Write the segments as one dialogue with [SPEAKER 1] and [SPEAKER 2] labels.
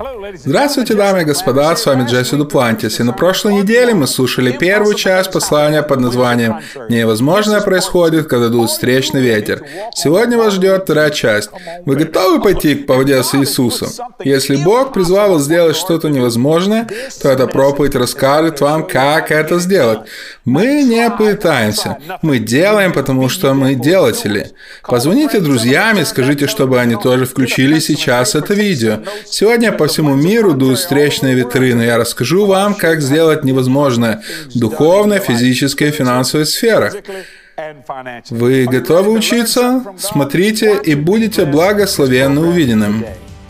[SPEAKER 1] Здравствуйте, дамы и господа, с вами Джесси Дуплантис, и на прошлой неделе мы слушали первую часть послания под названием «Невозможное происходит, когда дует встречный ветер». Сегодня вас ждет вторая часть. Вы готовы пойти по воде с Иисусом? Если Бог призвал вас сделать что-то невозможное, то эта проповедь расскажет вам, как это сделать. Мы не пытаемся, мы делаем, потому что мы делатели. Позвоните друзьям и скажите, чтобы они тоже включили сейчас это видео. Сегодня по всему миру дуют встречные ветры, но я расскажу вам, как сделать невозможное в духовной, физической и финансовой сферах. Вы готовы учиться? Смотрите и будете благословенны увиденным.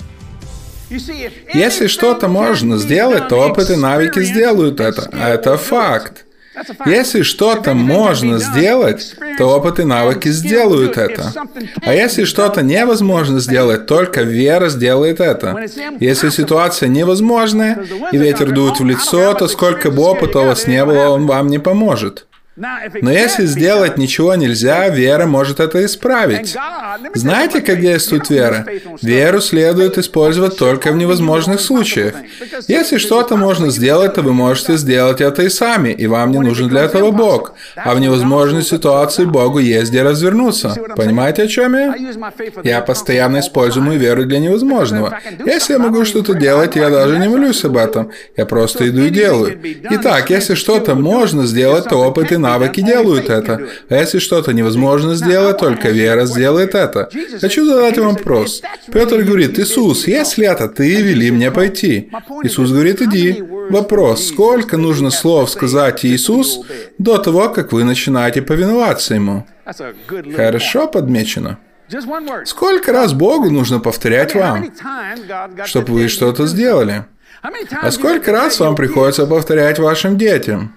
[SPEAKER 1] Если что-то можно сделать, то опыт и навыки сделают это. Это факт. Если что-то можно сделать, то опыт и навыки сделают это. А если что-то невозможно сделать, только вера сделает это. Если ситуация невозможная, и ветер дует в лицо, то сколько бы опыта у вас не было, он вам не поможет. Но если сделать ничего нельзя, вера может это исправить. Знаете, как действует вера? Веру следует использовать только в невозможных случаях. Если что-то можно сделать, то вы можете сделать это и сами, и вам не нужен для этого Бог. А в невозможной ситуации Богу есть где развернуться. Понимаете, о чем я? Я постоянно использую мою веру для невозможного. Если я могу что-то делать, я даже не молюсь об этом. Я просто иду и делаю. Итак, если что-то можно сделать, то опыт и навыки делают это. А если что-то невозможно сделать, только вера сделает это. Хочу задать вам вопрос. Петр говорит: «Иисус, если это ты, вели мне пойти». Иисус говорит: «Иди». Вопрос: сколько нужно слов сказать Иисус до того, как вы начинаете повиноваться Ему? Хорошо подмечено. Сколько раз Богу нужно повторять вам, чтобы вы что-то сделали? А сколько раз вам приходится повторять вашим детям?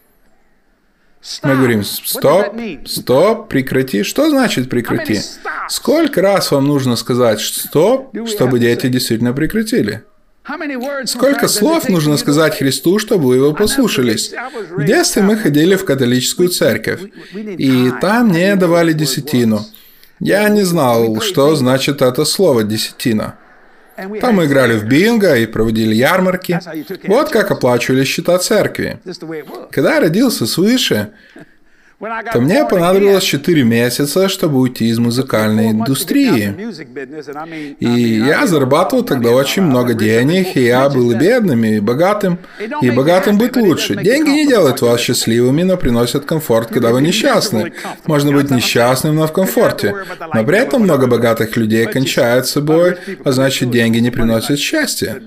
[SPEAKER 1] Мы говорим: стоп, стоп, прекрати. Что значит прекрати? Сколько раз вам нужно сказать стоп, чтобы дети действительно прекратили? Сколько слов нужно сказать Христу, чтобы вы его послушались? В детстве мы ходили в католическую церковь, и там не давали десятину. Я не знал, что значит это слово «десятина». Там мы играли в бинго и проводили ярмарки. Вот как оплачивали счета церкви. Когда я родился свыше, то мне понадобилось 4 месяца, чтобы уйти из музыкальной индустрии. И я зарабатывал тогда очень много денег, и я был и бедным, и богатым. И богатым быть лучше. Деньги не делают вас счастливыми, но приносят комфорт, когда вы несчастны. Можно быть несчастным, но в комфорте. Но при этом много богатых людей кончают с собой, а значит, деньги не приносят счастья.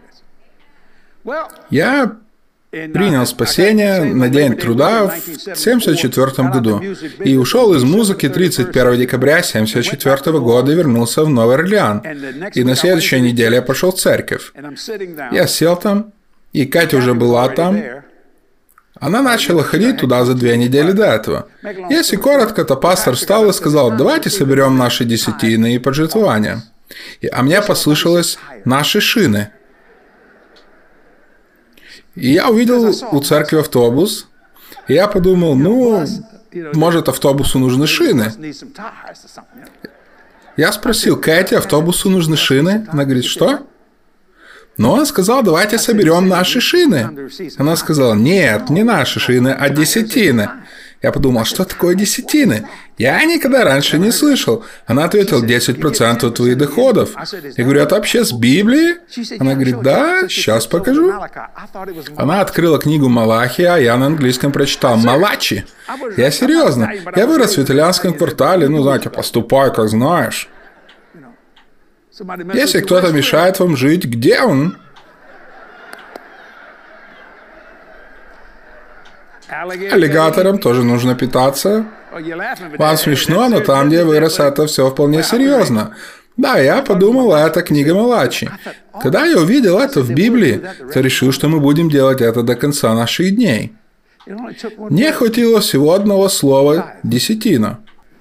[SPEAKER 1] Я принял спасение на День труда в 1974 году и ушел из музыки 31 декабря 1974 года и вернулся в Новый Орлеан. И на следующей неделе я пошел в церковь. Я сел там, и Катя уже была там. Она начала ходить туда за 2 недели до этого. Если коротко, то пастор встал и сказал: «Давайте соберем наши десятины и пожертвования». А мне послышалось «наши шины». И я увидел у церкви автобус, и я подумал: может, автобусу нужны шины? Я спросил: «Кэти, автобусу нужны шины?» Она говорит: «Что?» Он сказал: «Давайте соберем наши шины». Она сказала: «Нет, не наши шины, а десятины». Я подумал: что такое десятины? Я никогда раньше не слышал. Она ответила: 10% твоих доходов. Я говорю: это вообще с Библии? Она говорит: да, сейчас покажу. Она открыла книгу Малахия, а я на английском прочитал Малачи. Я серьезно. Я вырос в итальянском квартале, знаете, поступай, как знаешь. Если кто-то мешает вам жить, где он? Аллигаторам тоже нужно питаться. Вам смешно, но там, где я вырос, это все вполне серьезно. Да, я подумал, это книга Малачи. Когда я увидел это в Библии, то решил, что мы будем делать это до конца наших дней. Мне хватило всего одного слова «десятина».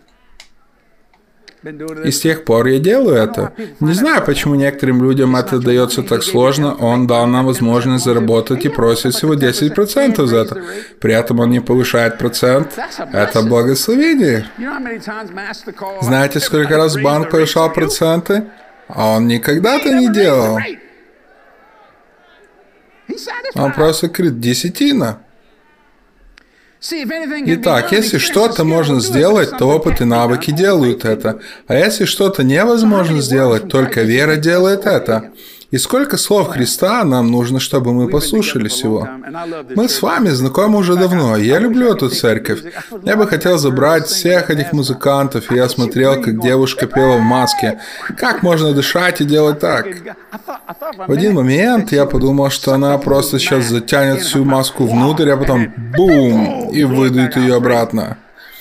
[SPEAKER 1] И с тех пор я делаю это. Не знаю, почему некоторым людям это дается так сложно. Он дал нам возможность заработать и просит всего 10% за это. При этом он не повышает процент. Это благословение. Знаете, сколько раз банк повышал проценты? А он никогда это не делал. Он просто говорит, десятина. Итак, если что-то можно сделать, то опыт и навыки делают это. А если что-то невозможно сделать, только вера делает это. И сколько слов Христа нам нужно, чтобы мы послушались Его? Мы с вами знакомы уже давно. Я люблю эту церковь. Я бы хотел забрать всех этих музыкантов, и я смотрел, как девушка пела в маске. Как можно дышать и делать так? В один момент я подумал, что она просто сейчас затянет всю маску внутрь, а потом бум, и выдует ее обратно.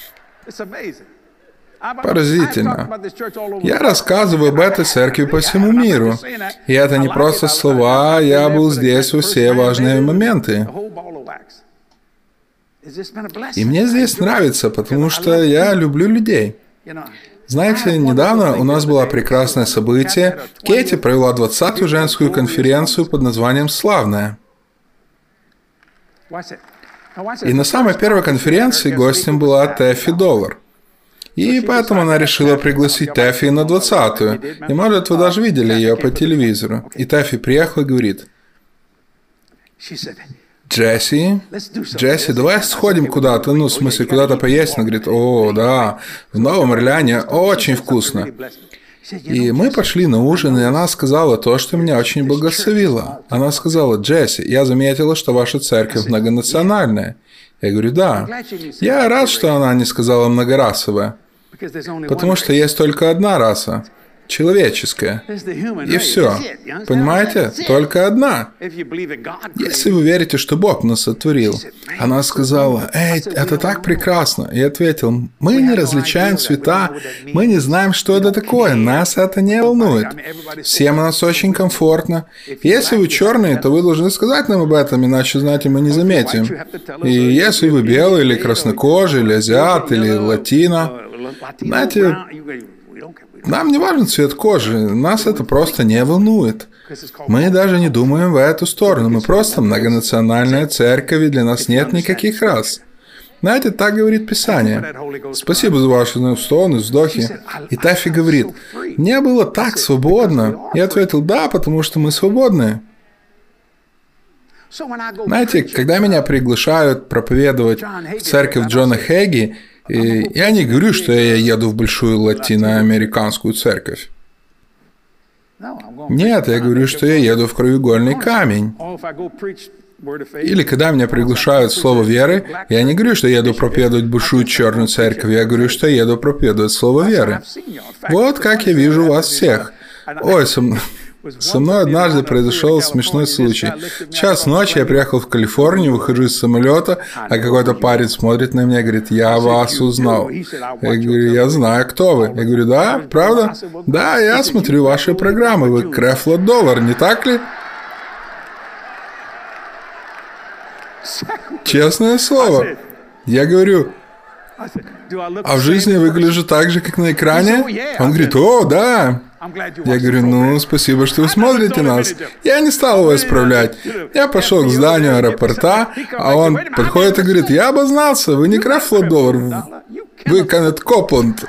[SPEAKER 1] Поразительно. Я рассказываю об этой церкви по всему миру. И это не просто слова, я был здесь во все важные моменты. И мне здесь нравится, потому что я люблю людей. Знаете, недавно у нас было прекрасное событие. Кэти провела 20-ю женскую конференцию под названием «Славная». И на самой первой конференции гостем была Тэффи Доллар. И поэтому она решила пригласить Тэффи на 20-ю. И, может, вы даже видели ее по телевизору. И Тэффи приехала и говорит: Джесси, давай сходим куда-то, в смысле, куда-то поесть. Она говорит: о, да, в Новом Орлеане очень вкусно. И мы пошли на ужин, и она сказала то, что меня очень благословило. Она сказала: Джесси, я заметила, что ваша церковь многонациональная. Я говорю: да. Я рад, что она не сказала многорасовая, потому что есть только одна раса. Человеческая. И все. Понимаете? Только одна. Если вы верите, что Бог нас сотворил. Она сказала: эй, это так прекрасно. И ответил: мы не различаем цвета, мы не знаем, что это такое, нас это не волнует. Всем у нас очень комфортно. Если вы черные, то вы должны сказать нам об этом, иначе, знаете, мы не заметим. И если вы белый, или краснокожий, или азиат, или латино, знаете, нам не важен цвет кожи, нас это просто не волнует. Мы даже не думаем в эту сторону, мы просто многонациональная церковь, и для нас нет никаких рас. Знаете, так говорит Писание. Спасибо за ваши стоны, вздохи. И Тэффи говорит: мне было так свободно. Я ответил: да, потому что мы свободны. Знаете, когда меня приглашают проповедовать в церковь Джона Хэгги, я не говорю, что я еду в большую латиноамериканскую церковь. Нет, я говорю, что я еду в краеугольный камень. Или когда меня приглашают в слово веры, я не говорю, что еду проповедовать большую черную церковь, я говорю, что еду проповедовать слово веры. Вот как я вижу вас всех. Ой, со мной однажды произошел смешной случай. В час ночи я приехал в Калифорнию, выхожу из самолета, а какой-то парень смотрит на меня и говорит: я вас узнал. Я говорю: я знаю, кто вы. Я говорю: да, правда? Да, я смотрю ваши программы, вы Creflo Dollar, не так ли? Честное слово. Я говорю: а в жизни я выгляжу так же, как на экране? Он говорит: о, да. Я говорю: ну, спасибо, что вы смотрите нас. Я не стал его исправлять. Я пошел к зданию аэропорта, а он подходит и говорит: я обознался, вы не Creflo Dollar, вы Кеннет Копланд.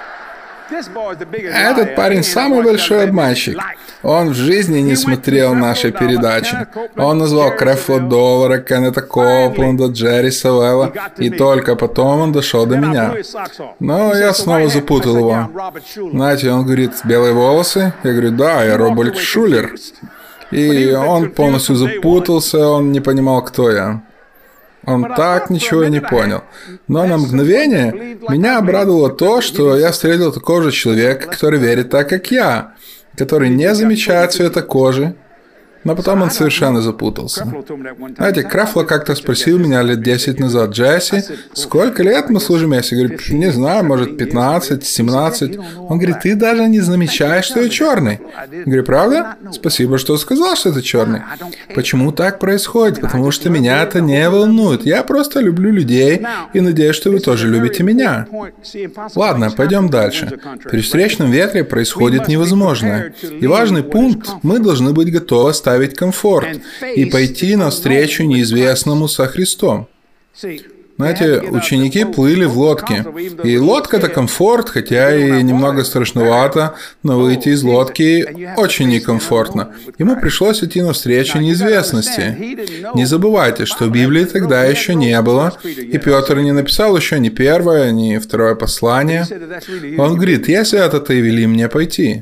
[SPEAKER 1] Этот парень самый большой обманщик. Он в жизни не смотрел наши передачи. Он назвал Creflo Dollar, Кеннета Копланда, Джерри Савелла, и только потом он дошел до меня. Но я снова запутал его. Знаете, он говорит: белые волосы? Я говорю: да, я Роберт Шулер. И он полностью запутался, он не понимал, кто я. Он так ничего и не понял. Но на мгновение меня обрадовало то, что я встретил такого же человека, который верит так, как я, который не замечает цвета кожи, но потом он совершенно запутался. Знаете, Creflo как-то спросил меня лет 10 назад: Джесси, сколько лет мы служим вместе? Я говорю: не знаю, может 15, 17. Он говорит: ты даже не замечаешь, что я черный. Я говорю: правда? Спасибо, что сказал, что ты черный. Почему так происходит? Потому что меня это не волнует. Я просто люблю людей и надеюсь, что вы тоже любите меня. Ладно, пойдем дальше. При встречном ветре происходит невозможное. И важный пункт: мы должны быть готовы оставить комфорт и пойти навстречу неизвестному со Христом. Знаете, ученики плыли в лодке. И лодка – это комфорт, хотя и немного страшновато, но выйти из лодки очень некомфортно. Ему пришлось идти навстречу неизвестности. Не забывайте, что Библии тогда еще не было, и Петр не написал еще ни первое, ни второе послание. Он говорит: «Если это ты, вели мне пойти».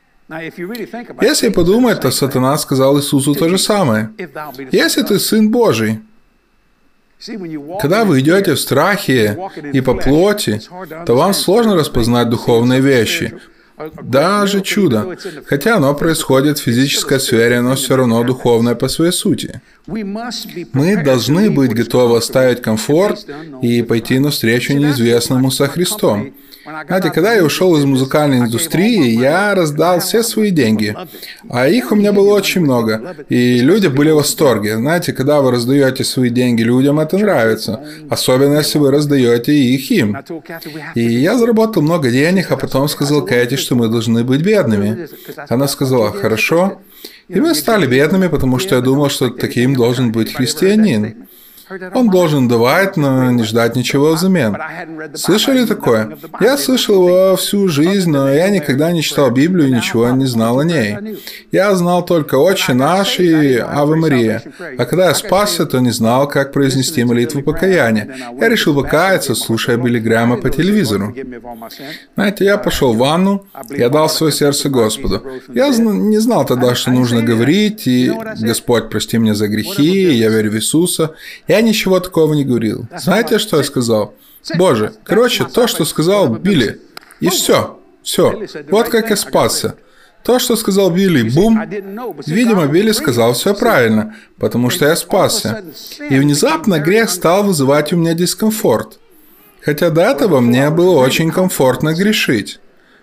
[SPEAKER 1] Если подумать, то Сатана сказал Иисусу то же самое. «Если ты Сын Божий». Когда вы идете в страхе и по плоти, то вам сложно распознать духовные вещи. Даже чудо. Хотя оно происходит в физической сфере, но все равно духовное по своей сути. Мы должны быть готовы оставить комфорт и пойти навстречу неизвестному со Христом. Знаете, когда я ушел из музыкальной индустрии, я раздал все свои деньги. А их у меня было очень много. И люди были в восторге. Знаете, когда вы раздаете свои деньги людям, это нравится. Особенно, если вы раздаете их им. И я заработал много денег, а потом сказал Кэти, что мы должны быть бедными. Она сказала: «Хорошо». И мы стали бедными, потому что я думал, что таким должен быть христианин. Он должен давать, но не ждать ничего взамен. Слышали такое? Я слышал его всю жизнь, но я никогда не читал Библию и ничего не знал о ней. Я знал только «Отче наш» и «Аве Мария». А когда я спасся, то не знал, как произнести молитву покаяния. Я решил покаяться, слушая Билли Грэма по телевизору. Знаете, я пошел в ванну, я дал свое сердце Господу. Я не знал тогда, что нужно говорить, и «Господь, прости меня за грехи», я верю в Иисуса. Я ничего такого не говорил. Знаете, что я сказал? Боже, короче, то, что сказал Билли. И все. Все. Вот как я спасся. То, что сказал Билли, бум. Видимо, Билли сказал все правильно, потому что я спасся. И внезапно грех стал вызывать у меня дискомфорт. Хотя до этого мне было очень комфортно грешить.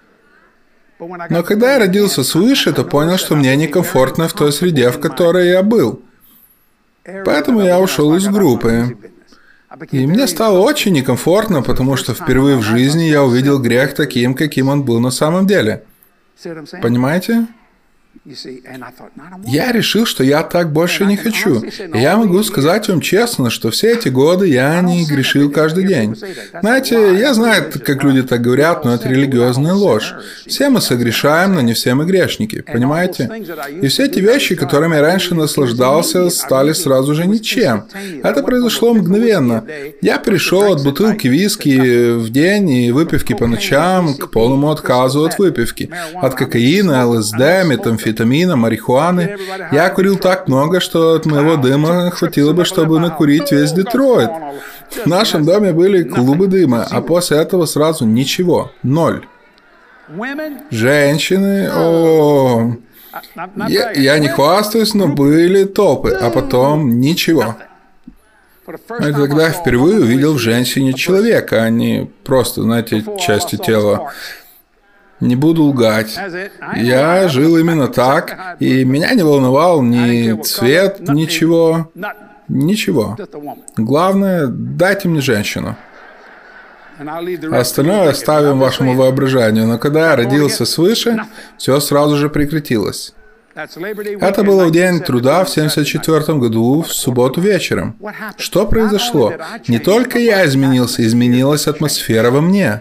[SPEAKER 1] Но когда я родился свыше, то понял, что мне некомфортно в той среде, в которой я был. Поэтому я ушел из группы. И мне стало очень некомфортно, потому что впервые в жизни я увидел грех таким, каким он был на самом деле. Понимаете? Я решил, что я так больше не хочу. И я могу сказать вам честно, что все эти годы я не грешил каждый день. Знаете, я знаю, как люди так говорят, но это религиозная ложь. Все мы согрешаем, но не все мы грешники. Понимаете? И все эти вещи, которыми я раньше наслаждался, стали сразу же ничем. Это произошло мгновенно. Я перешел от бутылки виски в день и выпивки по ночам к полному отказу от выпивки. От кокаина, ЛСД, метамфетамина, марихуаны. Я курил так много, что от моего дыма хватило бы, чтобы накурить весь Детройт. В нашем доме были клубы дыма, а после этого сразу ничего. 0. Женщины... О, я не хвастаюсь, но были топы, а потом ничего. Это когда я впервые увидел в женщине человека, а не просто, знаете, части тела. Не буду лгать. Я жил именно так, и меня не волновал ни цвет, ничего. Ничего. Главное, дайте мне женщину. А остальное оставим вашему воображению. Но когда я родился свыше, все сразу же прекратилось. Это было в день труда в 1974 году, в субботу вечером. Что произошло? Не только я изменился, изменилась атмосфера во мне.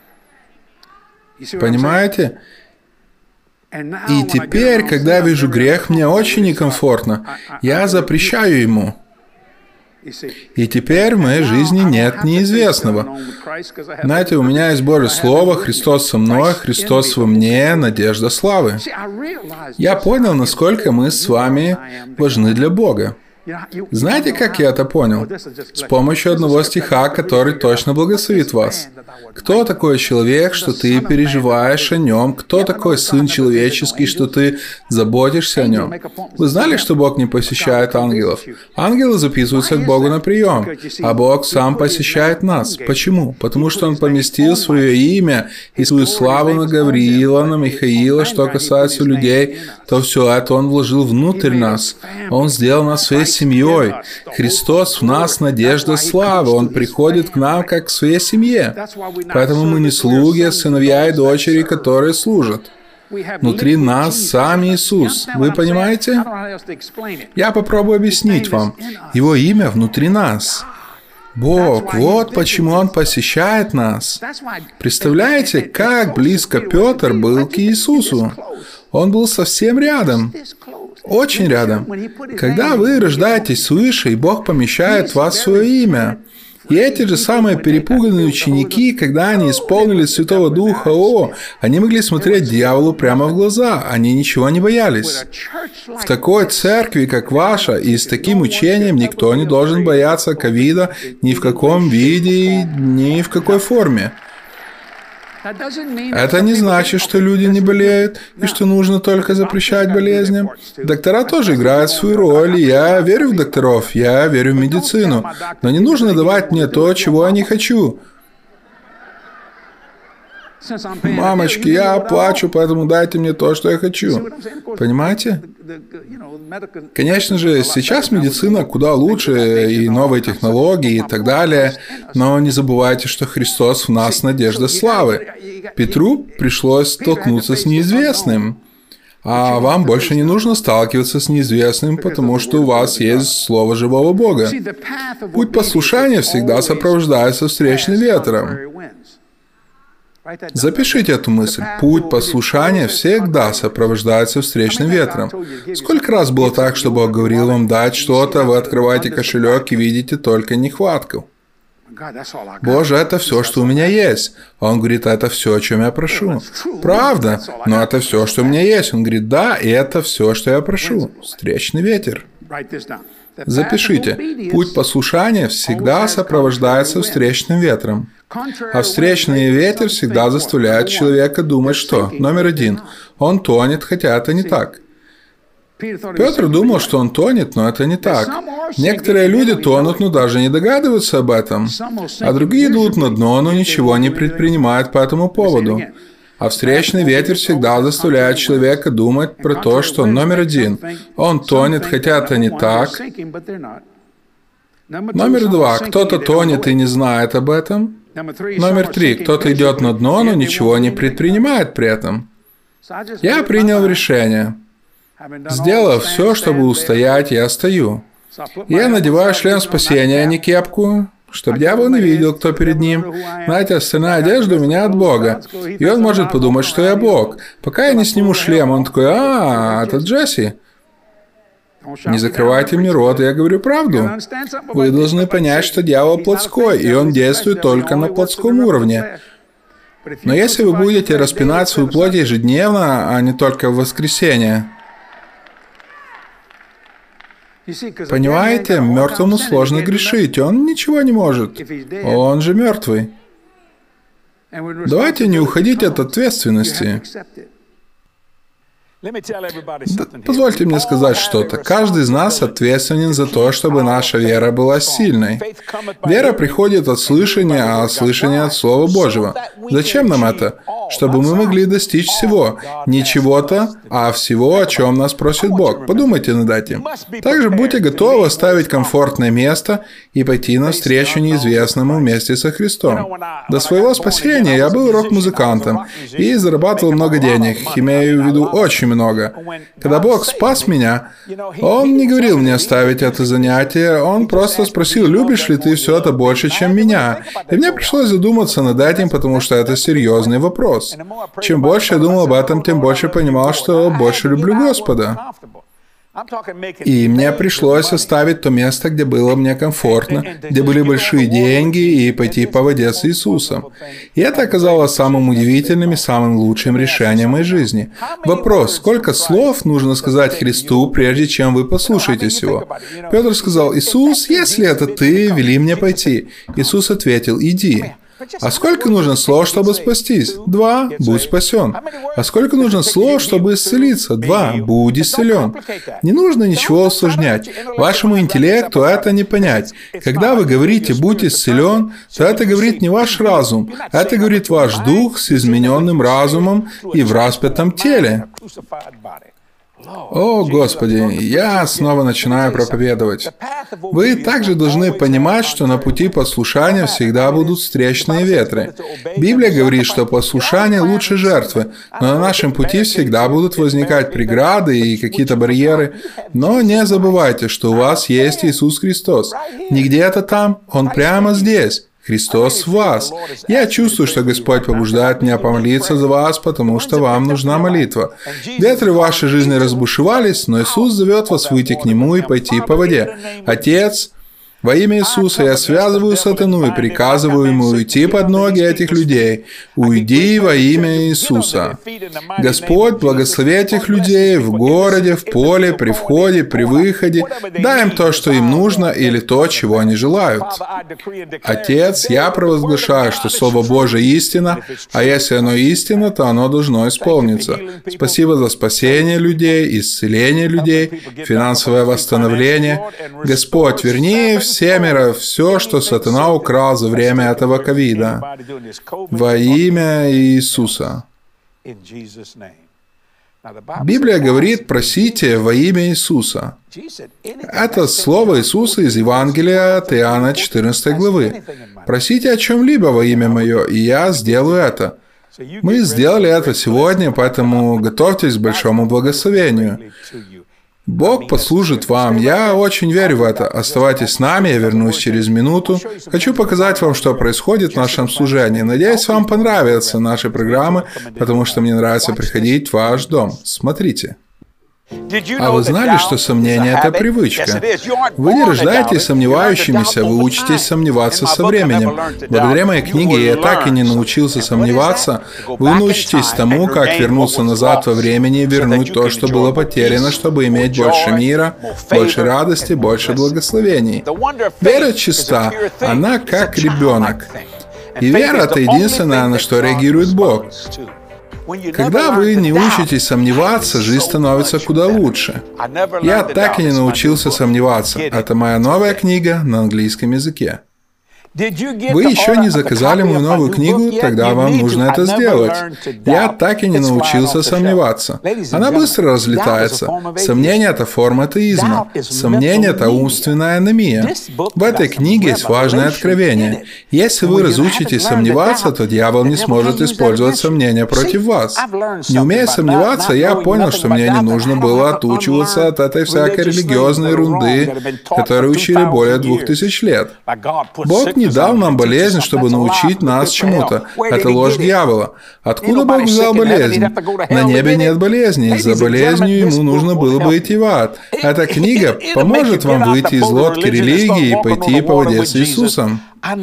[SPEAKER 1] Понимаете? И теперь, когда я вижу грех, мне очень некомфортно. Я запрещаю ему. И теперь в моей жизни нет неизвестного. Знаете, у меня есть Божье Слово, Христос со мной, Христос во мне, надежда славы. Я понял, насколько мы с вами важны для Бога. Знаете, как я это понял? С помощью одного стиха, который точно благословит вас. Кто такой человек, что ты переживаешь о нем? Кто такой Сын Человеческий, что ты заботишься о нем? Вы знали, что Бог не посещает ангелов? Ангелы записываются к Богу на прием, а Бог сам посещает нас. Почему? Потому что Он поместил свое имя и свою славу на Гавриила, на Михаила. Что касается людей, то все это Он вложил внутрь нас. Он сделал нас своей семьей. Христос в нас надежда славы. Он приходит к нам как к своей семье. Поэтому мы не слуги, а сыновья и дочери, которые служат. Внутри нас сам Иисус. Вы понимаете? Я попробую объяснить вам. Его имя внутри нас. Бог, вот почему Он посещает нас. Представляете, как близко Петр был к Иисусу? Он был совсем рядом. Очень рядом. Когда вы рождаетесь свыше, и Бог помещает в вас свое имя. И эти же самые перепуганные ученики, когда они исполнились Святого Духа, они могли смотреть дьяволу прямо в глаза, они ничего не боялись. В такой церкви, как ваша, и с таким учением никто не должен бояться ковида ни в каком виде, ни в какой форме. Это не значит, что люди не болеют, и что нужно только запрещать болезням. Доктора тоже играют свою роль, и я верю в докторов, я верю в медицину. Но не нужно давать мне то, чего я не хочу. Мамочки, я плачу, поэтому дайте мне то, что я хочу. Понимаете? Конечно же, сейчас медицина куда лучше, и новые технологии, и так далее. Но не забывайте, что Христос в нас надежда славы. Петру пришлось столкнуться с неизвестным. А вам больше не нужно сталкиваться с неизвестным, потому что у вас есть Слово живого Бога. Путь послушания всегда сопровождается встречным ветром. Запишите эту мысль. Путь послушания всегда сопровождается встречным ветром. Сколько раз было так, что Бог говорил вам дать что-то, вы открываете кошелек и видите только нехватку. Боже, это все, что у меня есть. Он говорит, это все, о чем я прошу. Правда, но это все, что у меня есть. Он говорит, да, и это все, что я прошу. Встречный ветер. Запишите. Путь послушания всегда сопровождается встречным ветром. А встречный ветер всегда заставляет человека думать, что, номер один, он тонет, хотя это не так. Петр думал, что он тонет, но это не так. Некоторые люди тонут, но даже не догадываются об этом. А другие идут на дно, но ничего не предпринимают по этому поводу. А встречный ветер всегда заставляет человека думать про то, что, номер один, он тонет, хотя это не так. Номер два, кто-то тонет и не знает об этом. Номер три, кто-то идет на дно, но ничего не предпринимает при этом. Я принял решение. Сделав все, чтобы устоять, я стою. Я надеваю шлем спасения, а не кепку, чтобы дьявол не видел, кто перед ним. Знаете, остальная одежда у меня от Бога. И он может подумать, что я Бог. Пока я не сниму шлем, он такой, это Джесси. Не закрывайте мне рот, я говорю правду. Вы должны понять, что дьявол плотской, и он действует только на плотском уровне. Но если вы будете распинать свою плоть ежедневно, а не только в воскресенье, понимаете, мертвому сложно грешить, он ничего не может. Он же мертвый. Давайте не уходить от ответственности. Позвольте мне сказать что-то. Каждый из нас ответственен за то, чтобы наша вера была сильной. Вера приходит от слышания, а слышание от Слова Божьего. Зачем нам это? Чтобы мы могли достичь всего. Не чего-то, а всего, о чем нас просит Бог. Подумайте над этим. Также будьте готовы оставить комфортное место и пойти навстречу неизвестному вместе со Христом. До своего спасения я был рок-музыкантом и зарабатывал много денег, имею в виду очень много. Когда Бог спас меня, Он не говорил мне оставить это занятие, Он просто спросил, любишь ли ты все это больше, чем меня? И мне пришлось задуматься над этим, потому что это серьезный вопрос. Чем больше я думал об этом, тем больше понимал, что больше люблю Господа. И мне пришлось оставить то место, где было мне комфортно, где были большие деньги, и пойти по воде с Иисусом. И это оказалось самым удивительным и самым лучшим решением моей жизни. Вопрос, сколько слов нужно сказать Христу, прежде чем вы послушаетесь Его? Петр сказал, Иисус, если это Ты, вели мне пойти. Иисус ответил, иди. А сколько нужно слов, чтобы спастись? 2. Будь спасен. А сколько нужно слов, чтобы исцелиться? 2. Будь исцелен. Не нужно ничего усложнять. Вашему интеллекту это не понять. Когда вы говорите «будь исцелен», то это говорит не ваш разум. Это говорит ваш дух с измененным разумом и в распятом теле. О, Господи, я снова начинаю проповедовать. Вы также должны понимать, что на пути послушания всегда будут встречные ветры. Библия говорит, что послушание лучше жертвы, но на нашем пути всегда будут возникать преграды и какие-то барьеры. Но не забывайте, что у вас есть Иисус Христос. Не где-то там, Он прямо здесь. Христос в вас. Я чувствую, что Господь побуждает меня помолиться за вас, потому что вам нужна молитва. Ветры в вашей жизни разбушевались, но Иисус зовет вас выйти к Нему и пойти по воде. Отец, во имя Иисуса я связываю сатану и приказываю ему уйти под ноги этих людей. Уйди во имя Иисуса. Господь, благослови этих людей в городе, в поле, при входе, при выходе. Дай им то, что им нужно, или то, чего они желают. Отец, я провозглашаю, что Слово Божие истина, а если оно истина, то оно должно исполниться. Спасибо за спасение людей, исцеление людей, финансовое восстановление. Господь, верни всемиро все, что сатана украл за время этого ковида. Во имя Иисуса. Библия говорит, просите во имя Иисуса. Это слово Иисуса из Евангелия от Иоанна 14 главы. Просите о чем-либо во имя Мое, и я сделаю это. Мы сделали это сегодня, поэтому готовьтесь к большому благословению. Бог послужит вам. Я очень верю в это. Оставайтесь с нами, я вернусь через минуту. Хочу показать вам, что происходит в нашем служении. Надеюсь, вам понравятся наши программы, потому что мне нравится приходить в ваш дом. Смотрите. А вы знали, что сомнение – это привычка? Вы не рождаетесь сомневающимися, вы учитесь сомневаться со временем. Благодаря моей книге «Я так и не научился сомневаться», вы научитесь тому, как вернуться назад во времени и вернуть то, что было потеряно, чтобы иметь больше мира, больше радости, больше благословений. Вера чиста, она как ребенок. И вера – это единственное, на что реагирует Бог. Когда вы не учитесь сомневаться, жизнь становится куда лучше. Я так и не научился сомневаться. Это моя новая книга на английском языке. Вы еще не заказали мою новую книгу, тогда вам нужно это сделать. Я так и не научился сомневаться. Она быстро разлетается. Сомнение – это форма атеизма. Сомнение – это умственная анемия. В этой книге есть важное откровение. Если вы разучитесь сомневаться, то дьявол не сможет использовать сомнения против вас. Не умея сомневаться, я понял, что мне не нужно было отучиваться от этой всякой религиозной ерунды, которую учили более 2000 лет. Бог не дал нам болезнь, чтобы научить нас чему-то. Это ложь дьявола. Откуда Бог взял болезнь? На небе нет болезни. За болезнью ему нужно было бы идти в ад. Эта книга поможет вам выйти из лодки религии и пойти по воде с Иисусом.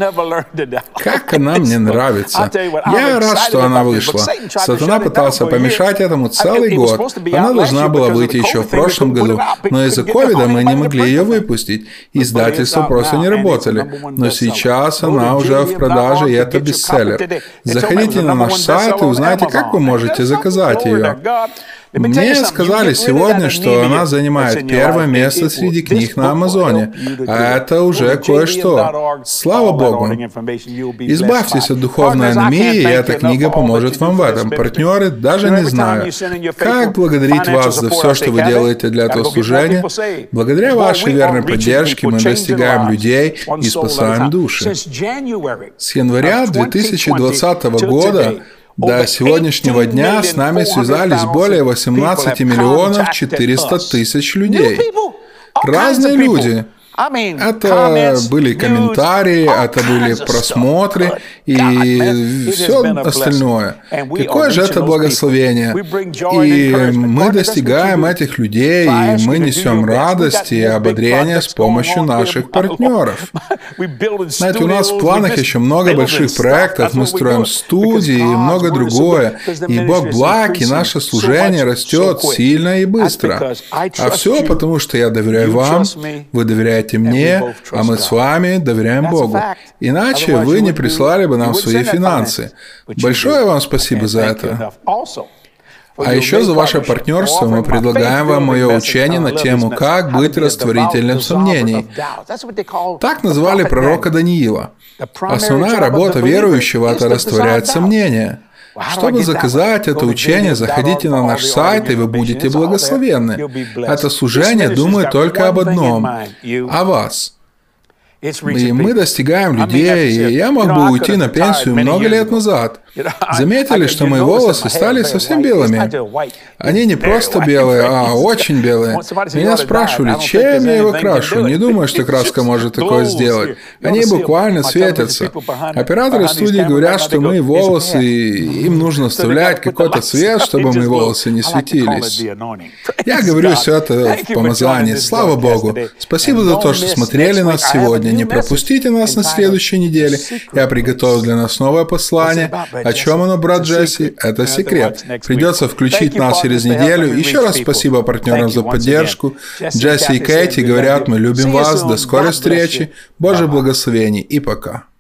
[SPEAKER 1] Как она мне нравится. Я рад, что она вышла. Сатана пытался помешать этому целый год. Она должна была выйти еще в прошлом году, но из-за ковида мы не могли ее выпустить. Издательства просто не работали. Но сейчас она уже в продаже, и это бестселлер. Заходите на наш сайт и узнайте, как вы можете заказать ее. Мне сказали сегодня, что она занимает первое место среди книг на Амазоне. А это уже кое-что. Слава Богу. Избавьтесь от духовной анемии, и эта книга поможет вам в этом. Партнеры, даже не знаю, как благодарить вас за все, что вы делаете для этого служения. Благодаря вашей верной поддержке мы достигаем людей и спасаем души. С января 2020 года до сегодняшнего дня с нами связались более 18 миллионов 400 тысяч людей. Разные люди. Это были комментарии, это были просмотры и все остальное. Какое же это благословение. И мы достигаем этих людей, и мы несем радость и ободрение с помощью наших партнеров. Знаете, у нас в планах еще много больших проектов, мы строим студии и много другое. И Бог благ, и наше служение растет сильно и быстро. А все потому, что я доверяю вам, вы доверяете мне, а мы с вами доверяем Богу. Иначе вы не прислали бы нам свои финансы. Большое вам спасибо за это. А еще за ваше партнерство мы предлагаем вам мое учение на тему «Как быть растворителем сомнений». Так назвали пророка Даниила. Основная работа верующего – это растворять сомнения. Чтобы заказать это учение, заходите на наш сайт, и вы будете благословенны. Это служение думает только об одном – о вас. И мы достигаем людей, и я мог бы уйти на пенсию много лет назад. Заметили, что мои волосы стали совсем белыми? Они не просто белые, а очень белые. Меня спрашивали, чем я его крашу. Не думаю, что краска может такое сделать. Они буквально светятся. Операторы студии говорят, что мои волосы, им нужно вставлять какой-то цвет, чтобы мои волосы не светились. Я говорю все это в помазании. Слава Богу. Спасибо за то, что смотрели нас сегодня. Не пропустите нас на следующей неделе. Я приготовил для нас новое послание. О чем оно, брат Джесси? Это секрет. Придется включить нас через неделю. Еще раз спасибо партнерам за поддержку. Джесси и Кэти говорят, мы любим вас. До скорой встречи. Божьих благословений и пока.